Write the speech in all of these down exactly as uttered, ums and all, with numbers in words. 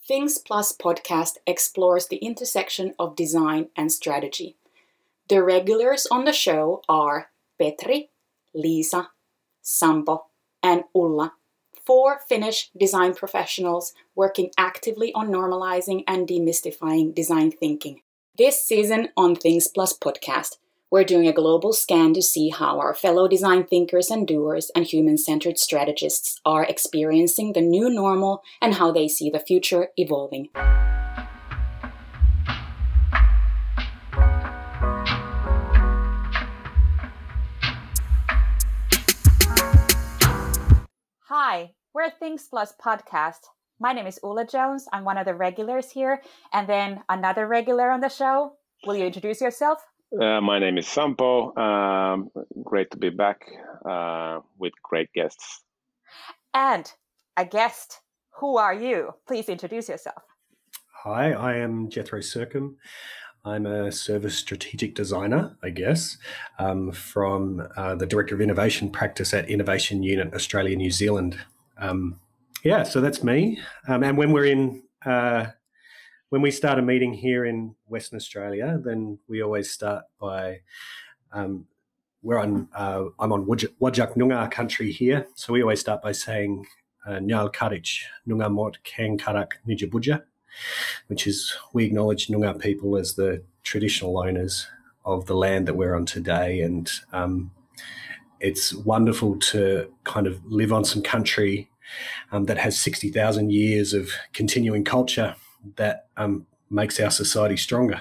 Things Plus podcast explores the intersection of design and strategy. The regulars on the show are Petri, Liisa, Sampo, and Ulla, four Finnish design professionals working actively on normalizing and demystifying design thinking. This season on Things Plus podcast, we're doing a global scan to see how our fellow design thinkers and doers and human-centered strategists are experiencing the new normal and how they see the future evolving. Hi, we're Things Plus podcast. My name is Ulla Jones. I'm one of the regulars here, and then another regular on the show. Will you introduce yourself? Uh, my name is Sampo. Um, great to be back uh, with great guests. And a guest. Who are you? Please introduce yourself. Hi, I am Jethro Sercombe. I'm a service strategic designer, I guess, um, from uh, the Director of Innovation practice at Innovation Unit Australia, New Zealand. Um, yeah, so that's me. Um, and when we're in... Uh, When we start a meeting here in Western Australia, then we always start by, um, we're on, uh, I'm on Whadjuk Noongar country here, so we always start by saying Nyal Karich Noongar Mot Kang Karak Nijabudja, which is we acknowledge Noongar people as the traditional owners of the land that we're on today, and um, it's wonderful to kind of live on some country um, that has sixty thousand years of continuing culture that um, makes our society stronger.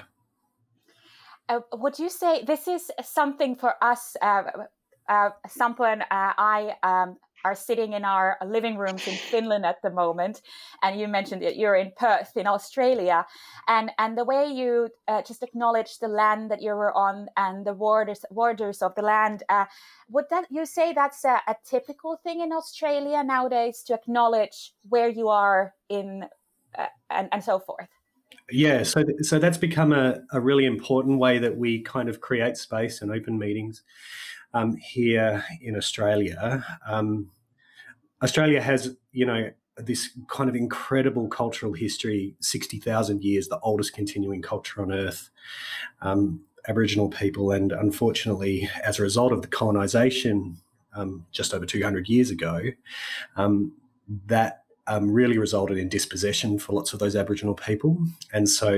Uh, would you say this is something for us, uh, uh, Sampo and uh, I um, are sitting in our living rooms in Finland at the moment, and you mentioned that you're in Perth in Australia, and, and the way you uh, just acknowledge the land that you were on and the borders, borders of the land, uh, would that you say that's a, a typical thing in Australia nowadays, to acknowledge where you are in Uh, and, and so forth? Yeah, so th- so that's become a, a really important way that we kind of create space and open meetings um, here in Australia. Um, Australia has, you know, this kind of incredible cultural history, sixty thousand years, the oldest continuing culture on earth, um, Aboriginal people. And unfortunately, as a result of the colonisation um, just over two hundred years ago, um, that Um, really resulted in dispossession for lots of those Aboriginal people. And so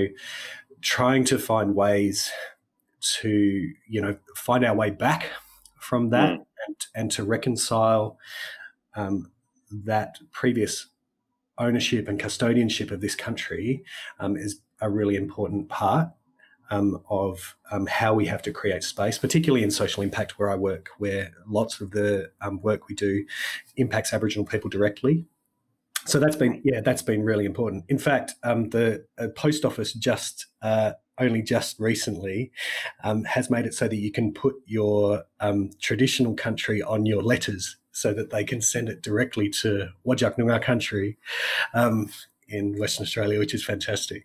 trying to find ways to, you know, find our way back from that mm. and, and to reconcile um, that previous ownership and custodianship of this country um, is a really important part um, of um, how we have to create space, particularly in social impact where I work, where lots of the um, work we do impacts Aboriginal people directly. So that's been, yeah, that's been really important. In fact, um, the uh, post office just uh, only just recently um, has made it so that you can put your um, traditional country on your letters so that they can send it directly to Whadjuk Noongar country um, in Western Australia, which is fantastic.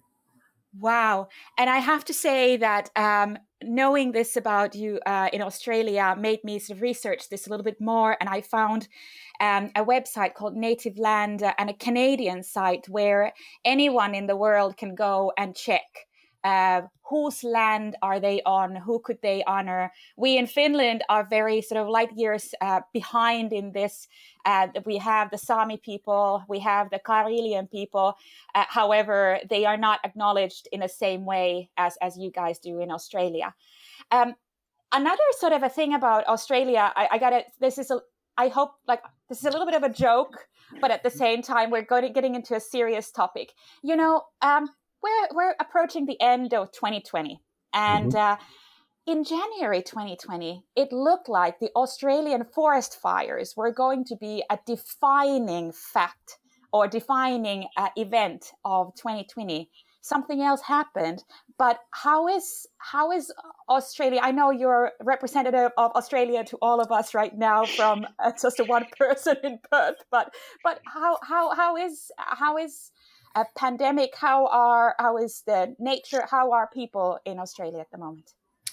Wow. And I have to say that um, knowing this about you uh, in Australia made me sort of research this a little bit more. And I found um, a website called Native Land uh, and a Canadian site where anyone in the world can go and check uh, whose land are they on, who could they honor. We in Finland are very sort of light years uh, behind in this. Uh, we have the Sami people, we have the Karelian people. Uh, however, they are not acknowledged in the same way as, as you guys do in Australia. Um, another sort of a thing about Australia, I, I got it. This is, a, I hope, like, this is a little bit of a joke, but at the same time, we're going to, getting into a serious topic. You know, um, we're we're approaching the end of twenty twenty, and mm-hmm. uh, in January twenty twenty, it looked like the Australian forest fires were going to be a defining fact or defining uh, event of twenty twenty. Something else happened, but how is how is Australia? I know you're representative of Australia to all of us right now from uh, just a one person in Perth, but but how how how is how is a pandemic? How are how is the nature? How are people in Australia at the moment?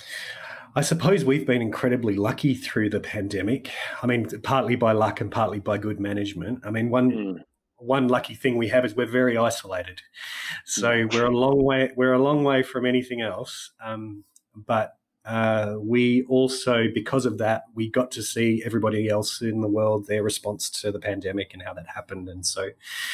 I suppose we've been incredibly lucky through the pandemic. I mean, partly by luck and partly by good management. I mean, one mm. one lucky thing we have is we're very isolated. So we're a long way, we're a long way from anything else. Um, but uh, we also, because of that, we got to see everybody else in the world, their response to the pandemic and how that happened. And so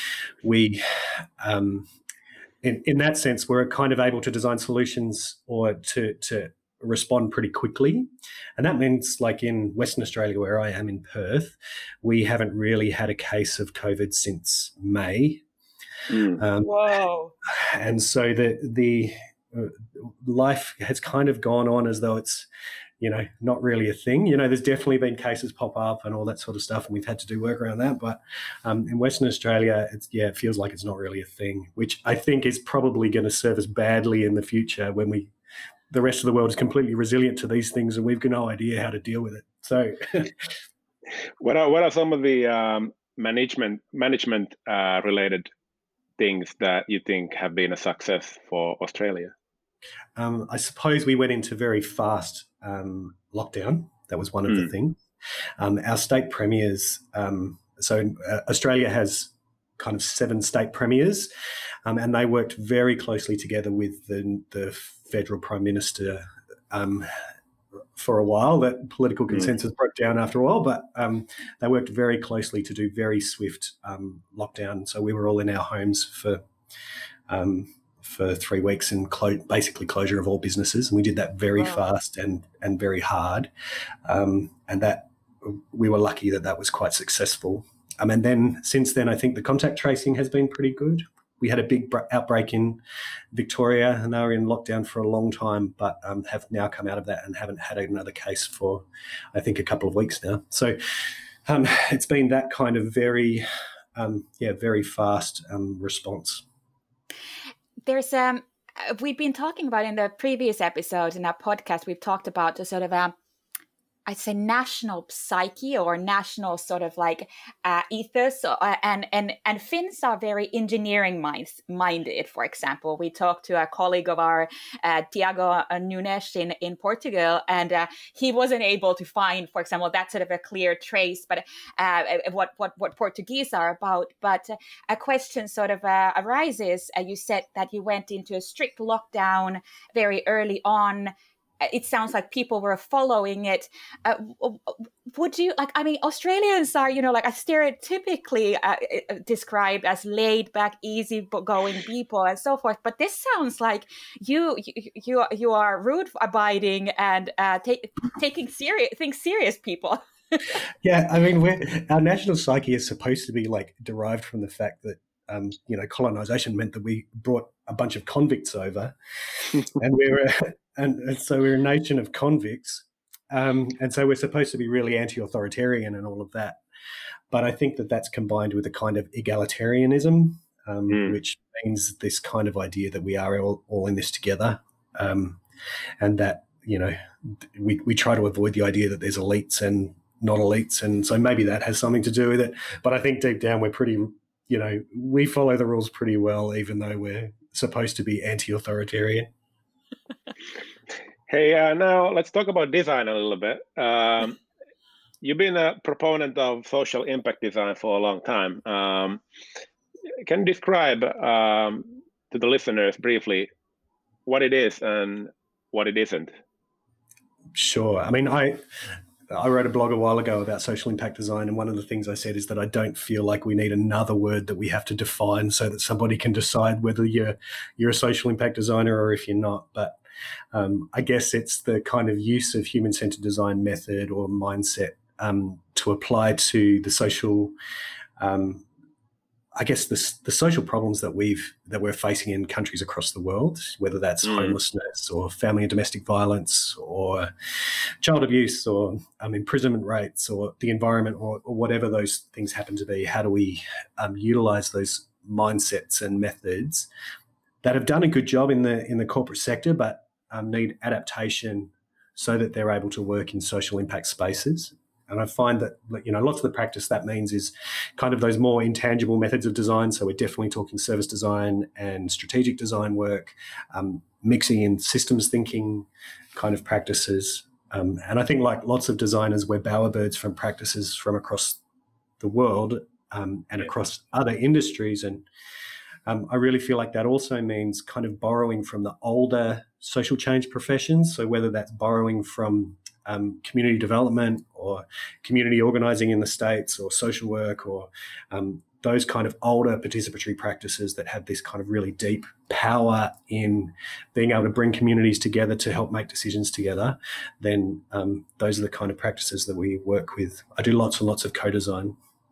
we, um, in, in that sense, we're kind of able to design solutions or to, to respond pretty quickly. And that means, like in Western Australia, where I am in Perth, we haven't really had a case of COVID since May. Mm. Um, Whoa. And so the, the uh, life has kind of gone on as though it's, you know, not really a thing. You know, there's definitely been cases pop up and all that sort of stuff, and we've had to do work around that. But um, in Western Australia, it's, yeah, it feels like it's not really a thing, which I think is probably going to serve us badly in the future when we the rest of the world is completely resilient to these things and we've got no idea how to deal with it. So what are what are some of the um, management management uh, related things that you think have been a success for Australia? Um, I suppose we went into very fast um, lockdown. That was one of mm. the things. Um, our state premiers, um, so uh, Australia has kind of seven state premiers, um, and they worked very closely together with the, the federal prime minister um, for a while. That political consensus mm. broke down after a while, but um, they worked very closely to do very swift um, lockdown. So we were all in our homes for um, for three weeks and clo- basically closure of all businesses, and we did that very wow. fast and and very hard, um, and that we were lucky that that was quite successful. Um, and then since then, I think the contact tracing has been pretty good. We had a big outbreak in Victoria and they were in lockdown for a long time, but um, have now come out of that and haven't had another case for, I think, a couple of weeks now. So um, it's been that kind of very, um, yeah, very fast um, response. There's, um, we've been talking about in the previous episode in our podcast, we've talked about the sort of a, I'd say national psyche or national sort of like uh, ethos, uh, and and and Finns are very engineering minds, minded. For example, we talked to a colleague of our, uh, Tiago Nunes in in Portugal, and uh, he wasn't able to find, for example, that sort of a clear trace, but uh, what what what Portuguese are about. But a question sort of uh, arises. Uh, you said that you went into a strict lockdown very early on. It sounds like people were following it. Uh, would you like? I mean, Australians are, you know, like a stereotypically uh, described as laid back, easy-going people, and so forth. But this sounds like you, you, you, you are rule-abiding and uh, take, taking serious things serious people. Yeah, I mean, we're, our national psyche is supposed to be like derived from the fact that um, you know, colonization meant that we brought a bunch of convicts over, and we were. And, and so we're a nation of convicts, um, and so we're supposed to be really anti-authoritarian and all of that. But I think that that's combined with a kind of egalitarianism, um, mm. which means this kind of idea that we are all, all in this together, um, and that, you know, we, we try to avoid the idea that there's elites and not elites, and so maybe that has something to do with it. But I think deep down we're pretty, you know, we follow the rules pretty well, even though we're supposed to be anti-authoritarian. Hey, uh, now let's talk about design a little bit. Um, you've been a proponent of social impact design for a long time. Um, can you describe um, to the listeners briefly what it is and what it isn't? Sure. I mean, I I wrote a blog a while ago about social impact design, and one of the things I said is that I don't feel like we need another word that we have to define so that somebody can decide whether you're you're a social impact designer or if you're not. But um, I guess it's the kind of use of human-centered design method or mindset um, to apply to the social, um, I guess the the social problems that we've that we're facing in countries across the world, whether that's mm. homelessness or family and domestic violence or child abuse or um, imprisonment rates or the environment or, or whatever those things happen to be. How do we um, utilize those mindsets and methods that have done a good job in the in the corporate sector, but um, need adaptation so that they're able to work in social impact spaces? And I find that, you know, lots of the practice that means is kind of those more intangible methods of design. So we're definitely talking service design and strategic design work, um, mixing in systems thinking kind of practices. Um, and I think, like lots of designers, we're bowerbirds from practices from across the world, um, and across other industries. And um, I really feel like that also means kind of borrowing from the older social change professions. So whether that's borrowing from um, community development or community organising in the States or social work or um, those kind of older participatory practices that have this kind of really deep power in being able to bring communities together to help make decisions together, then um, those are the kind of practices that we work with. I do lots and lots of co-design.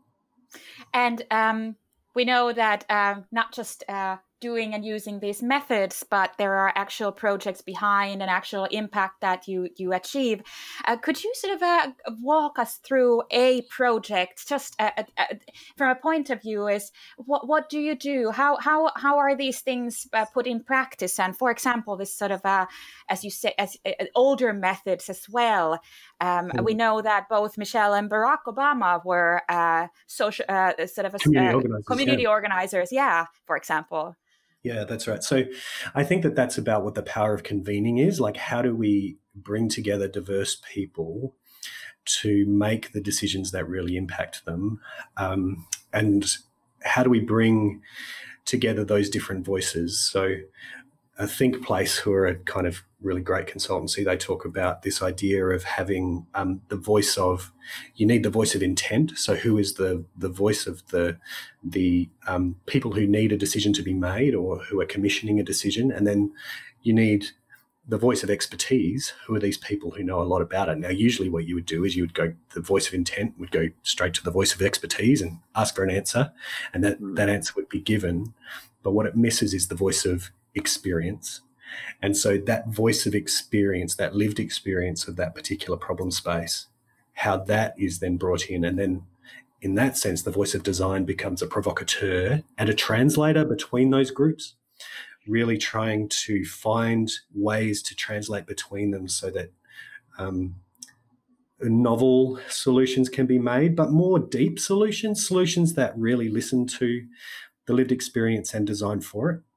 And um, we know that uh, not just uh, doing and using these methods, but there are actual projects behind and actual impact that you you achieve. Uh, could you sort of uh, walk us through a project, just uh, uh, from a point of view, is what what do you do? How how how are these things uh, put in practice? And for example, this sort of uh, as you say, as uh, older methods as well. Um, mm. We know that both Michelle and Barack Obama were uh, social uh, sort of a, community, uh, organizers, community yeah. organizers. Yeah, for example. Yeah, that's right. So I think that that's about what the power of convening is. Like, how do we bring together diverse people to make the decisions that really impact them? Um, and how do we bring together those different voices? So uh, Think Place, who are a kind of really great consultancy, they talk about this idea of having um, the voice of, you need the voice of intent. So who is the the voice of the the um, people who need a decision to be made or who are commissioning a decision? And then you need the voice of expertise. Who are these people who know a lot about it? Now, usually what you would do is you would go, the voice of intent would go straight to the voice of expertise and ask for an answer, and that, that answer would be given. But what it misses is the voice of experience. And so that voice of experience, that lived experience of that particular problem space, how that is then brought in. And then in that sense, the voice of design becomes a provocateur and a translator between those groups, really trying to find ways to translate between them so that um, novel solutions can be made, but more deep solutions, solutions that really listen to the lived experience and design for it.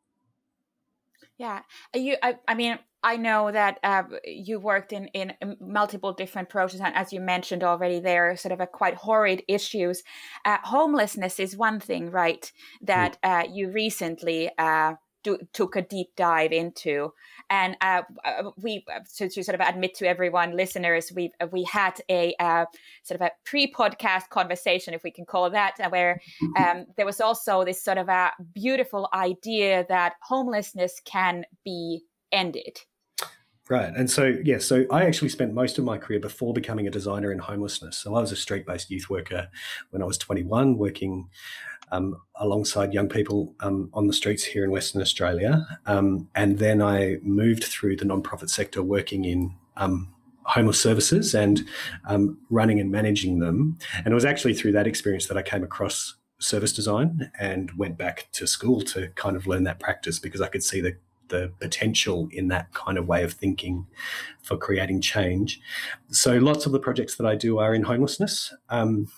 Yeah, you. I, I mean, I know that uh, you worked in, in multiple different projects, and as you mentioned already, there are sort of a quite horrid issues. Uh, homelessness is one thing, right? That uh, you recently uh, do, took a deep dive into, and uh, we to, to sort of admit to everyone, listeners, we we had a uh, sort of a pre-podcast conversation, if we can call it that, where um, there was also this sort of a beautiful idea that homelessness can be ended. Right. And so, yeah, so I actually spent most of my career before becoming a designer in homelessness. So I was a street-based youth worker when I was twenty-one, working um, alongside young people um, on the streets here in Western Australia. Um, and then I moved through the non-profit sector working in um, homeless services and um, running and managing them. And it was actually through that experience that I came across service design and went back to school to kind of learn that practice, because I could see the the potential in that kind of way of thinking for creating change. So lots of the projects that I do are in homelessness. Um,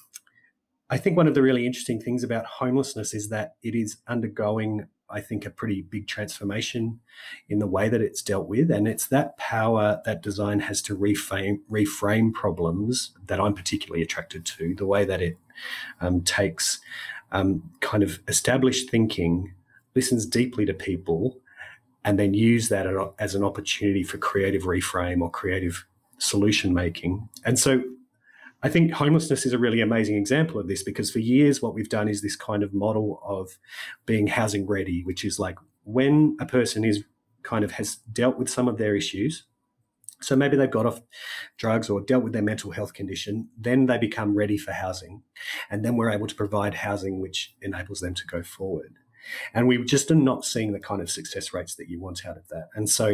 I think one of the really interesting things about homelessness is that it is undergoing, I think, a pretty big transformation in the way that it's dealt with. And it's that power that design has to reframe, reframe problems that I'm particularly attracted to, the way that it um, takes um, kind of established thinking, listens deeply to people, and then use that as an opportunity for creative reframe or creative solution making. And so I think homelessness is a really amazing example of this, because for years what we've done is this kind of model of being housing ready, which is like when a person is kind of has dealt with some of their issues, so maybe they've got off drugs or dealt with their mental health condition, then they become ready for housing. And then we're able to provide housing which enables them to go forward. And we just are not seeing the kind of success rates that you want out of that. And so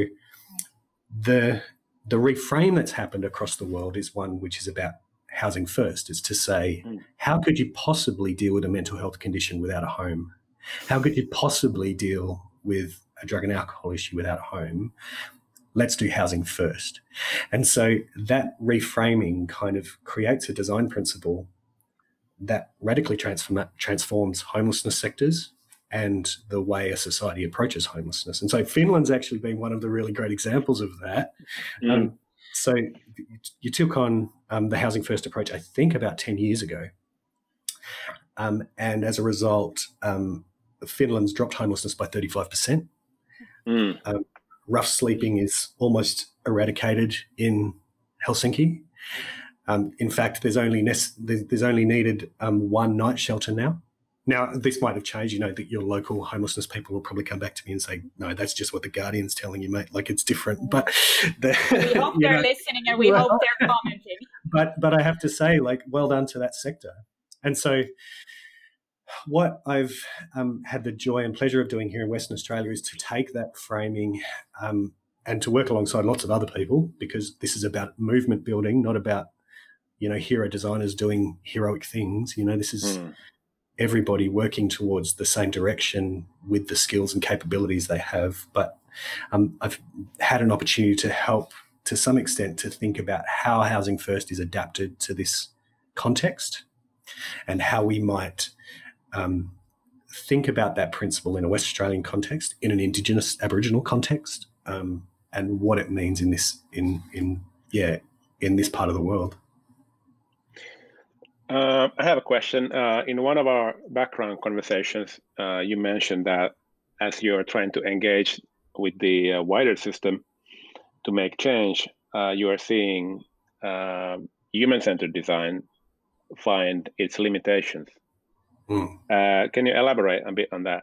the the reframe that's happened across the world is one which is about housing first. Is to say, mm. how could you possibly deal with a mental health condition without a home? How could you possibly deal with a drug and alcohol issue without a home? Let's do housing first. And so that reframing kind of creates a design principle that radically transform, transforms homelessness sectors and the way a society approaches homelessness. And so Finland's actually been one of the really great examples of that. Mm. Um, so you took on um, the housing first approach, I think, about ten years ago. Um, and as a result, um, Finland's dropped homelessness by thirty-five percent. Mm. Um, rough sleeping is almost eradicated in Helsinki. Um, in fact, there's only ne- there's only needed um, one night shelter now. Now, this might have changed. You know, that your local homelessness people will probably come back to me and say, no, that's just what the Guardian's telling you, mate. Like, it's different. But the, we hope they're know, listening and we well, hope they're commenting. But, but I have to say, like, well done to that sector. And so what I've um, had the joy and pleasure of doing here in Western Australia is to take that framing um, and to work alongside lots of other people, because this is about movement building, not about, you know, hero designers doing heroic things. You know, this is... Mm. everybody working towards the same direction with the skills and capabilities they have. But um, I've had an opportunity to help to some extent to think about how Housing First is adapted to this context and how we might um, think about that principle in a West Australian context, in an Indigenous Aboriginal context, um, and what it means in this, in, in, yeah, in this part of the world. Uh, I have a question. Uh, in one of our background conversations, uh, you mentioned that as you're trying to engage with the uh, wider system to make change, uh, you are seeing uh, human-centered design find its limitations. Mm. Uh, can you elaborate a bit on that?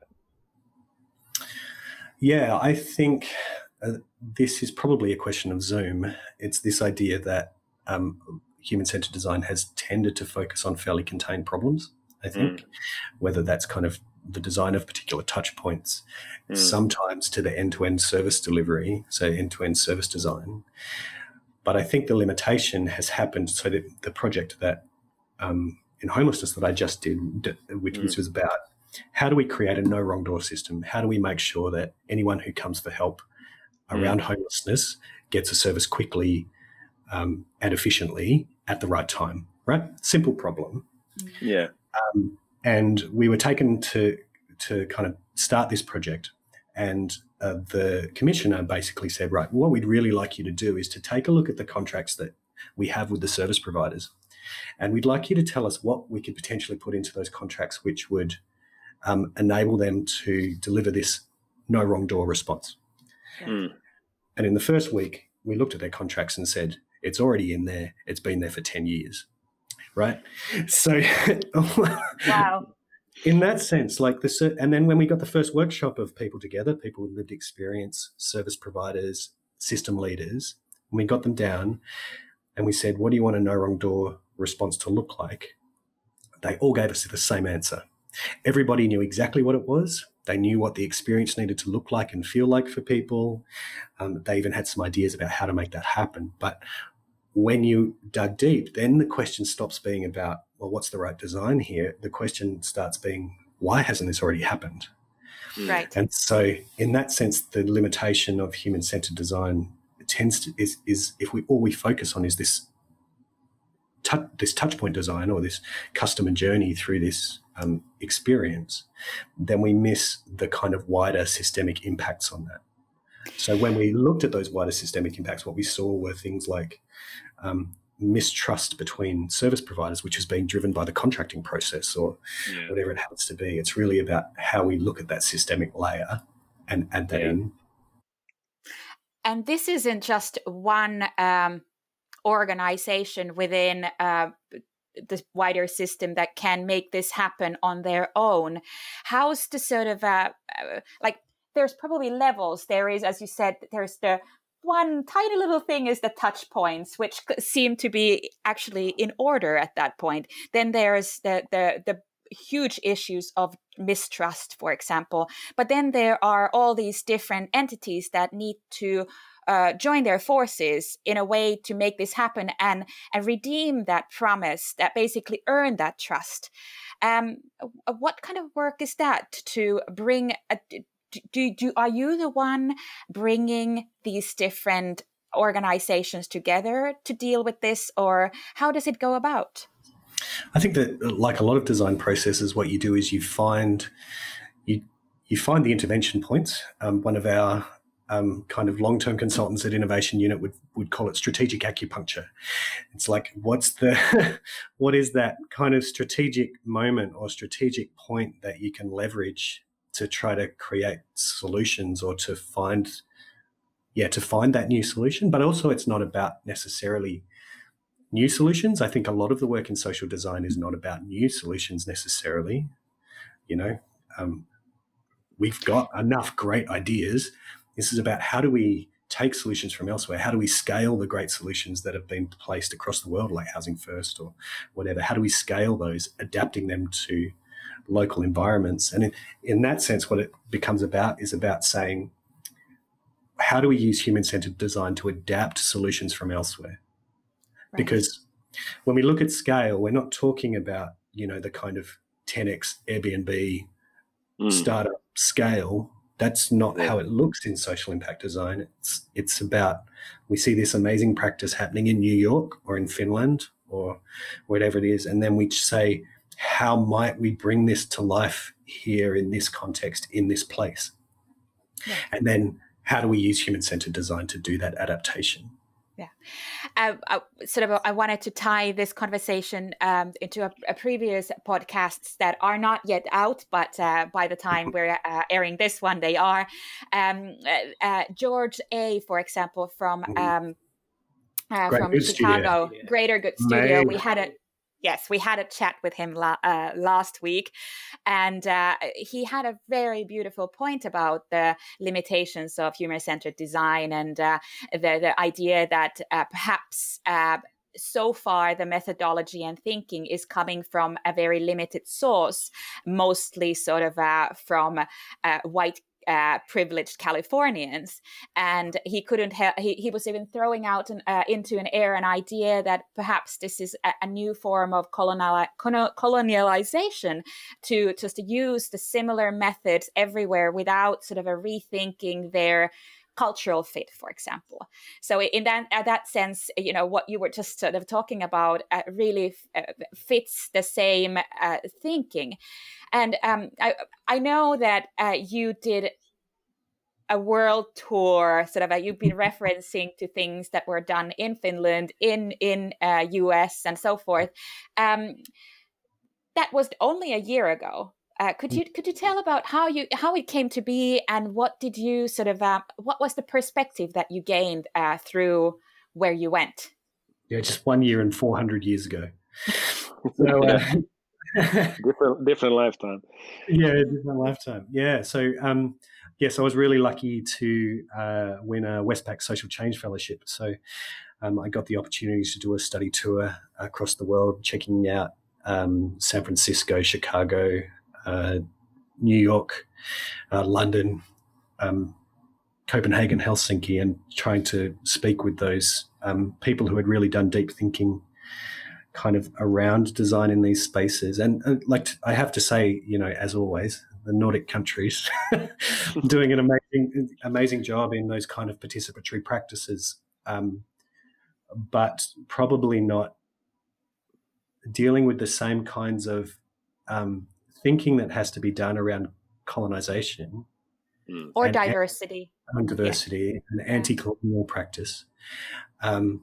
Yeah, I think uh, this is probably a question of Zoom. It's this idea that um, human-centered design has tended to focus on fairly contained problems, I think, mm. whether that's kind of the design of particular touch points, mm. sometimes to the end-to-end service delivery, so end-to-end service design. But I think the limitation has happened, so that the project that um, in homelessness that I just did, which, mm. which was about how do we create a no wrong door system? How do we make sure that anyone who comes for help around mm. homelessness gets a service quickly um, and efficiently at the right time, right? Simple problem. Yeah. Um, and we were taken to to kind of start this project, and uh, the commissioner basically said, right, what we'd really like you to do is to take a look at the contracts that we have with the service providers, and we'd like you to tell us what we could potentially put into those contracts which would um, enable them to deliver this no wrong door response. Mm. And in the first week, we looked at their contracts and said, it's already in there. It's been there for ten years, right? So, wow. In that sense, like the, and then when we got the first workshop of people together, people with lived experience, service providers, system leaders, and we got them down and we said, what do you want a no wrong door response to look like? They all gave us the same answer. Everybody knew exactly what it was. They knew what the experience needed to look like and feel like for people. Um, they even had some ideas about how to make that happen. But when you dug deep, then the question stops being about, well, what's the right design here? The question starts being, why hasn't this already happened? Right. And so in that sense, the limitation of human-centered design tends to, is, is if we all we focus on is this, tu- this touch point design or this customer journey through this um, experience, then we miss the kind of wider systemic impacts on that. So when we looked at those wider systemic impacts, what we saw were things like um, mistrust between service providers, which is being driven by the contracting process or yeah. whatever it happens to be. It's really about how we look at that systemic layer and add that yeah. in. And this isn't just one um, organization within uh, the wider system that can make this happen on their own. How's the sort of, uh, uh, like, there's probably levels. There is, as you said, there's the one tiny little thing is the touch points, which seem to be actually in order at that point. Then there's the the the huge issues of mistrust, for example. But then there are all these different entities that need to uh, join their forces in a way to make this happen and and redeem that promise, that basically earn that trust. Um, what kind of work is that to bring a Do, do are you the one bringing these different organizations together to deal with this, or how does it go about? I think that, like a lot of design processes, what you do is you find you you find the intervention points. Um, one of our um, kind of long-term consultants at Innovation Unit would, would call it strategic acupuncture. It's like, what's the, what is that kind of strategic moment or strategic point that you can leverage to try to create solutions or to find, yeah, to find that new solution. But also it's not about necessarily new solutions. I think a lot of the work in social design is not about new solutions necessarily. You know, um, we've got enough great ideas. This is about how do we take solutions from elsewhere? How do we scale the great solutions that have been placed across the world, like Housing First or whatever? How do we scale those, adapting them to local environments? And in, in that sense, what it becomes about is about saying, how do we use human-centered design to adapt solutions from elsewhere? Right. Because when we look at scale, we're not talking about, you know, the kind of ten X Airbnb mm. startup scale. That's not yeah. how it looks in social impact design. It's it's about, we see this amazing practice happening in New York or in Finland or whatever it is, and then we say, how might we bring this to life here in this context, in this place? Yeah. And then how do we use human-centered design to do that adaptation? Yeah, uh, I, sort of. I wanted to tie this conversation um, into a, a previous podcasts that are not yet out, but uh, by the time we're uh, airing this one, they are. Um, uh, uh, George A, for example, from um, uh, from Chicago, Studio. Greater Good Studio. Maybe. We had a. Yes, we had a chat with him la- uh, last week, and uh, he had a very beautiful point about the limitations of human-centered design and uh, the, the idea that uh, perhaps uh, so far the methodology and thinking is coming from a very limited source, mostly sort of uh, from uh, white Uh, privileged Californians, and he couldn't ha- he, he was even throwing out an, uh, into an air an idea that perhaps this is a, a new form of colonial colonialization to just to use the similar methods everywhere without sort of a rethinking their cultural fit, for example. So in that uh, that sense, you know, what you were just sort of talking about uh, really f- uh, fits the same uh, thinking. And um, I, I know that uh, you did a world tour, sort of, uh, you've been referencing to things that were done in Finland, in in uh, U S and so forth. Um, that was only a year ago. Uh, could you could you tell about how you how it came to be, and what did you sort of uh, what was the perspective that you gained uh, through where you went? Yeah, just one year and four hundred years ago. So. Uh, different different lifetime. Yeah, different lifetime. Yeah. So um, yes, I was really lucky to uh, win a Westpac Social Change Fellowship. So um, I got the opportunity to do a study tour across the world, checking out um, San Francisco, Chicago, uh, New York, uh, London, um, Copenhagen, Helsinki, and trying to speak with those um, people who had really done deep thinking kind of around design in these spaces. And uh, like I have to say, you know, as always, the Nordic countries doing an amazing, amazing job in those kind of participatory practices, um, but probably not dealing with the same kinds of um, thinking that has to be done around colonization. Mm. Or and diversity. And diversity yeah. and anti-colonial practice. Um,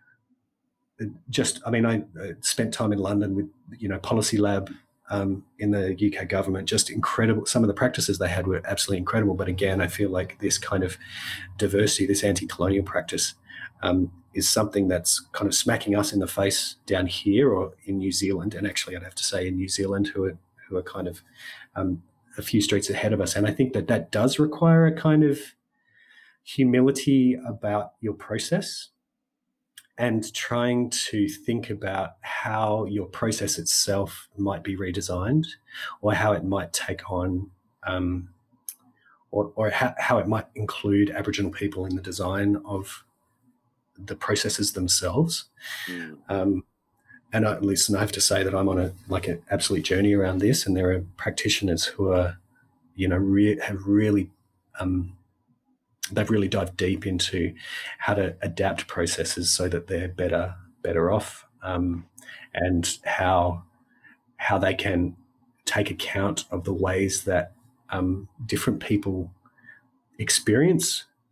Just, I mean, I spent time in London with, you know, Policy Lab um, in the U K government. Just incredible. Some of the practices they had were absolutely incredible. But again, I feel like this kind of diversity, this anti-colonial practice, um, is something that's kind of smacking us in the face down here or in New Zealand. And actually, I'd have to say in New Zealand, who are who are kind of um, a few streets ahead of us. And I think that that does require a kind of humility about your process, and trying to think about how your process itself might be redesigned, or how it might take on, um, or, or how, how it might include Aboriginal people in the design of the processes themselves. Mm. Um, and I, listen, I have to say that I'm on a like an absolute journey around this, and there are practitioners who are, you know, re- have really. Um, They've really dived deep into how to adapt processes so that they're better, better off, um, and how how they can take account of the ways that um, different people experience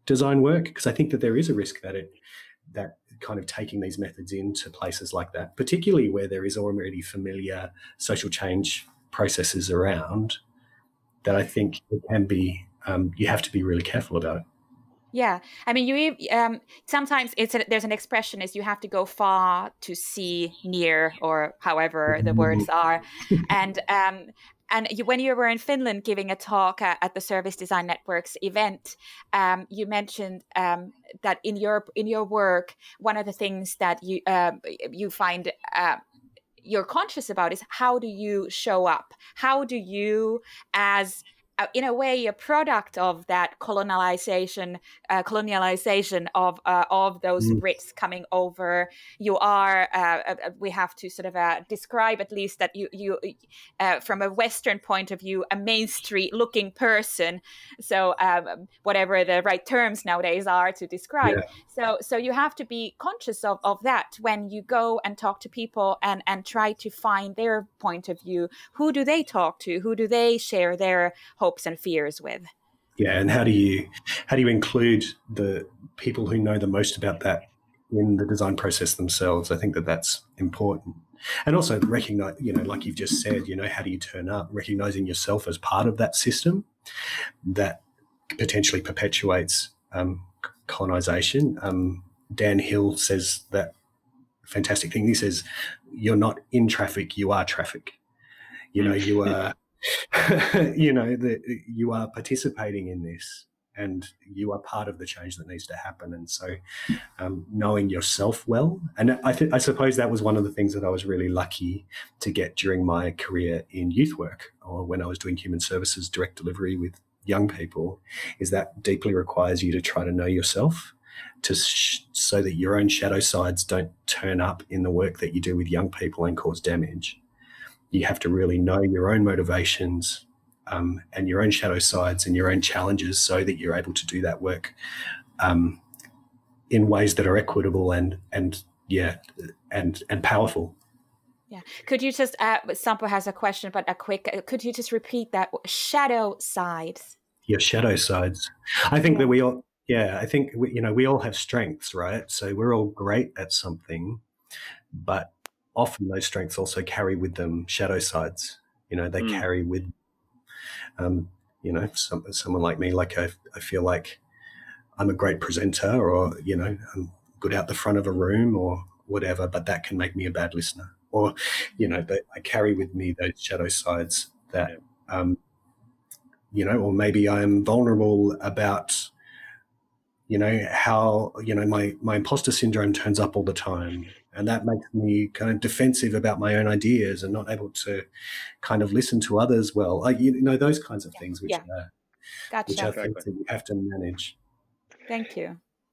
design work, because I think that there is a risk that it that kind of taking these methods into places like that, particularly where there is already familiar social change processes around, that I think it can be, um, you have to be really careful about it. Yeah, I mean, you um, sometimes it's a, there's an expression is you have to go far to see near, or however the words are, and um, and you, when you were in Finland giving a talk uh, at the Service Design Network's event, um, you mentioned um, that in your in your work, one of the things that you uh, you find uh, you're conscious about is how do you show up? How do you, as Uh, in a way, a product of that colonialization, uh, colonialization of uh, of those Mm. Brits coming over. You are, uh, uh, we have to sort of uh, describe at least that you, you uh, from a Western point of view, a Main Street looking person. So um, whatever the right terms nowadays are to describe. Yeah. So so you have to be conscious of, of that when you go and talk to people and, and try to find their point of view. Who do they talk to? Who do they share their hopes and fears with? Yeah, and how do you how do you include the people who know the most about that in the design process themselves? I think that that's important. And also recognize, you know, like you've just said, you know, how do you turn up? Recognizing yourself as part of that system that potentially perpetuates um, colonization. Um, Dan Hill says that fantastic thing. He says, "You're not in traffic; you are traffic." You know, you are. you know, that you are participating in this, and you are part of the change that needs to happen. And so um, knowing yourself well, and I, th- I suppose that was one of the things that I was really lucky to get during my career in youth work, or when I was doing human services direct delivery with young people, is that deeply requires you to try to know yourself, to sh- so that your own shadow sides don't turn up in the work that you do with young people and cause damage. You have to really know your own motivations um, and your own shadow sides and your own challenges, so that you're able to do that work um, in ways that are equitable and and yeah and and powerful. Yeah. Could you just, uh, Sampo has a question, but a quick, uh, could you just repeat that? Shadow sides. Your shadow sides. I think Yeah. that we all, yeah, I think, we, you know, we all have strengths, right? So we're all great at something, but often those strengths also carry with them shadow sides. You know, they Mm. carry with, um, you know, some, someone like me, like I, I feel like I'm a great presenter, or, you know, I'm good out the front of a room or whatever, but that can make me a bad listener. Or, you know, but I carry with me those shadow sides that, um, you know, or maybe I'm vulnerable about, you know, how, you know, my, my imposter syndrome turns up all the time. And that makes me kind of defensive about my own ideas and not able to kind of listen to others well. Like, you know, those kinds of things which Yeah. are, Gotcha. which are things that you have to manage. Thank you.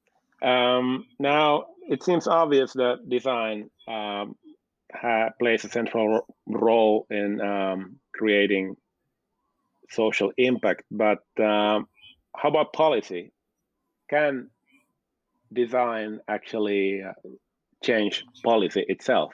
Um, now, it seems obvious that design um, ha- plays a central ro- role in um, creating social impact, but um, how about policy? Can design actually uh, change policy itself?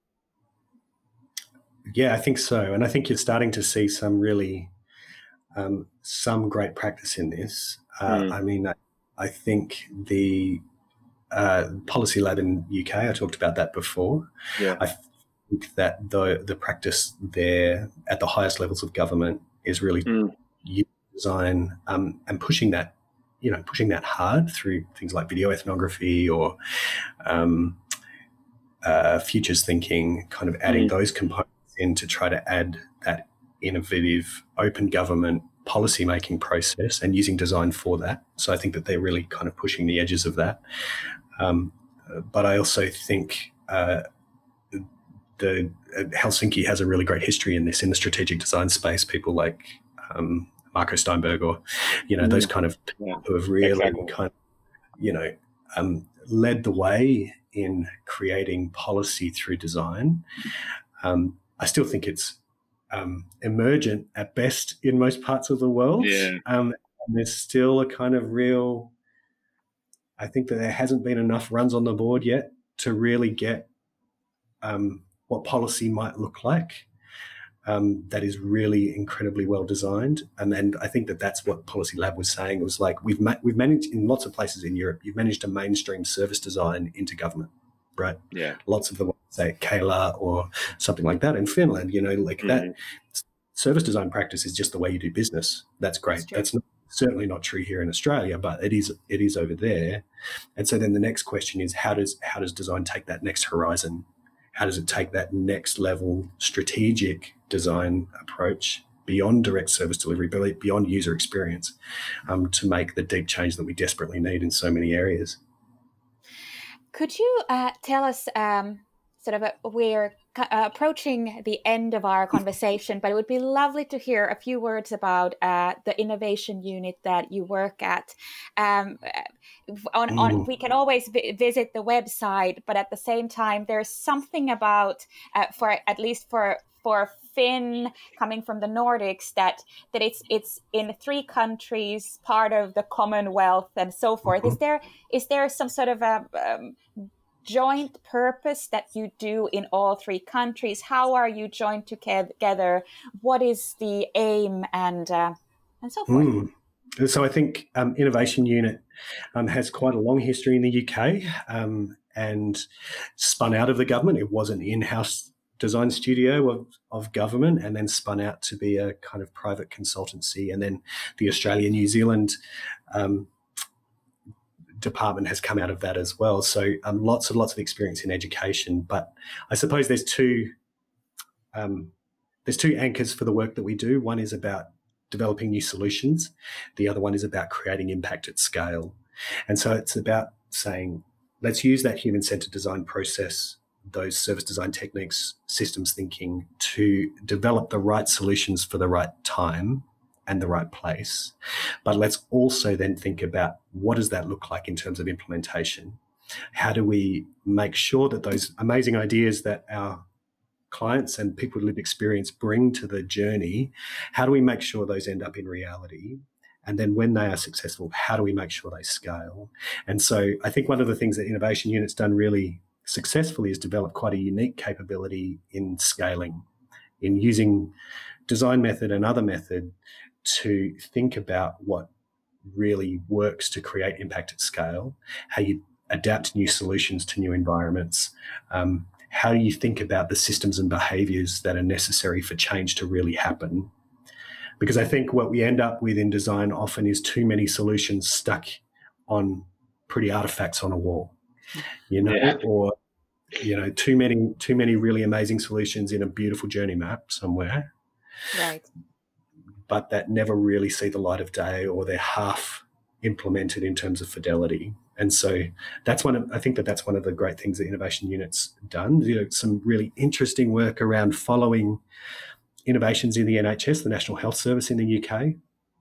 Yeah, I think so. And I think you're starting to see some really, um, some great practice in this. Uh, Mm. I mean, I, I think the uh, Policy Lab in U K, I talked about that before. Yeah. I think that the the practice there at the highest levels of government is really Mm. using design um, and pushing that, you know, pushing that hard through things like video ethnography or um, uh, futures thinking, kind of adding Mm. those components in to try to add that innovative open government policy making process and using design for that. So I think that they're really kind of pushing the edges of that. Um, but I also think uh, the uh, Helsinki has a really great history in this, in the strategic design space. People like um, Marco Steinberg, or you know, Mm. those kind of Yeah. who have really Exactly. kind of, you know, um, led the way in creating policy through design. Um, I still think it's um, emergent at best in most parts of the world. Yeah. Um, and there's still a kind of real, I think that there hasn't been enough runs on the board yet to really get um, what policy might look like. um, that is really incredibly well designed. And and I think that that's what Policy Lab was saying. It was like we've ma- we've managed in lots of places in Europe. You've managed to mainstream service design into government, right? Yeah. Lots of them say Kela or something like that in Finland. You know, like mm-hmm. that service design practice is just the way you do business. That's great. That's, that's not, certainly not true here in Australia, but it is it is over there. And so then the next question is how does how does design take that next horizon? How does it take that next level strategic design approach beyond direct service delivery, beyond user experience, um, to make the deep change that we desperately need in so many areas? Could you uh, tell us, um, sort of, a, we're uh, approaching the end of our conversation, but it would be lovely to hear a few words about uh, the innovation unit that you work at. Um, on, mm. on, we can always v- visit the website, but at the same time, there's something about, uh, for at least for for Finn coming from the Nordics, that that it's it's in three countries, part of the Commonwealth, and so forth. Mm-hmm. Is there is there some sort of a um, joint purpose that you do in all three countries? How are you joined together? What is the aim, and uh, and so forth? Mm. So I think um, Innovation Unit um, has quite a long history in the U K um, and spun out of the government. It was an in-house design studio of, of government, and then spun out to be a kind of private consultancy. And then the Australia New Zealand um, department has come out of that as well. So um, lots and lots of experience in education. But I suppose there's two um, there's two anchors for the work that we do. One is about developing new solutions. The other one is about creating impact at scale. And so it's about saying, let's use that human-centered design process, those service design techniques, systems thinking, to develop the right solutions for the right time and the right place. But let's also then think about what does that look like in terms of implementation? How do we make sure that those amazing ideas that our clients and people with lived experience bring to the journey, how do we make sure those end up in reality? And then when they are successful, how do we make sure they scale? And so I think one of the things that Innovation Unit's done really successfully is develop quite a unique capability in scaling, in using design method and other method to think about what really works to create impact at scale, how you adapt new solutions to new environments, um, how you think about the systems and behaviours that are necessary for change to really happen. Because I think what we end up with in design often is too many solutions stuck on pretty artifacts on a wall, you know, yeah. or, you know, too many, too many really amazing solutions in a beautiful journey map somewhere. Right. But that never really see the light of day, or they're half implemented in terms of fidelity. And so that's one of, I think that that's one of the great things that Innovation Unit's done. You know, some really interesting work around following innovations in the N H S, the National Health Service in the U K,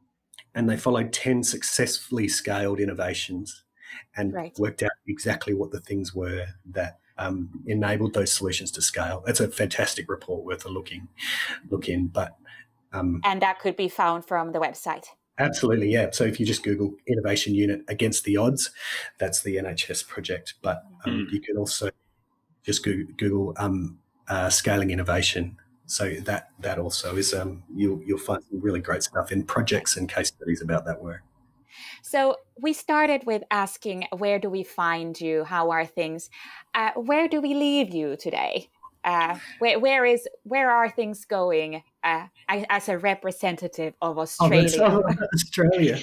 and they followed ten successfully scaled innovations and right. worked out exactly what the things were that um, enabled those solutions to scale. That's a fantastic report worth a looking look in. But um, and that could be found from the website. Absolutely, yeah. So if you just Google Innovation Unit Against the Odds, that's the N H S project. But um, mm. you can also just Google, Google um, uh, Scaling Innovation. So that that also is, um, you'll, you'll find some really great stuff in projects and case studies about that work. So we started with asking, where do we find you? How are things? Uh, where do we leave you today? Uh, where, where is where are things going uh, as a representative of Australia? Oh, Australia.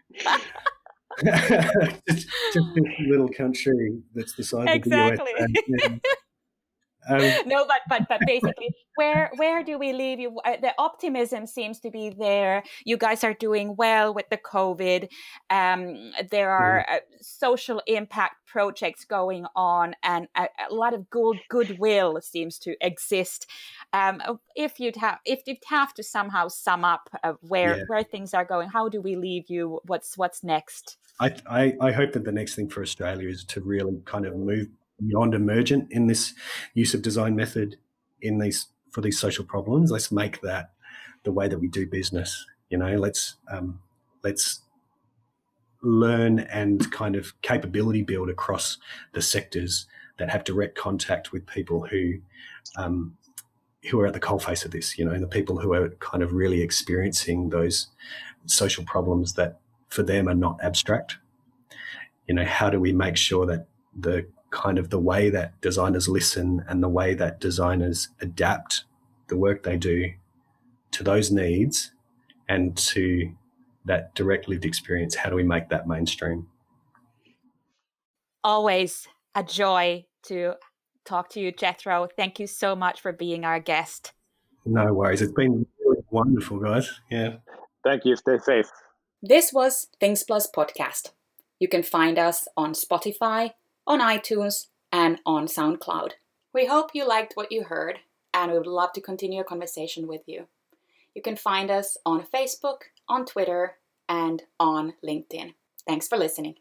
just, just this little country that's the size exactly. of the U S. Um, no, but but but basically, where where do we leave you? Uh, the optimism seems to be there. You guys are doing well with the COVID. Um, there are uh, social impact projects going on, and a, a lot of good goodwill seems to exist. Um, if you'd have if you'd have to somehow sum up uh, where yeah. where things are going, how do we leave you? What's what's next? I, I I hope that the next thing for Australia is to really kind of move beyond emergent in this use of design method in these for these social problems. Let's make that the way that we do business. You know, let's um, let's learn and kind of capability build across the sectors that have direct contact with people who um, who are at the coalface of this, you know, the people who are kind of really experiencing those social problems that for them are not abstract. You know, how do we make sure that the kind of the way that designers listen and the way that designers adapt the work they do to those needs and to that direct lived experience, how do we make that mainstream? Always a joy to talk to you, Jethro. Thank you so much for being our guest. No worries. It's been really wonderful, guys. Yeah. Thank you. Stay safe. This was Things Plus Podcast. You can find us on Spotify, on iTunes, and on SoundCloud. We hope you liked what you heard, and we would love to continue a conversation with you. You can find us on Facebook, on Twitter, and on LinkedIn. Thanks for listening.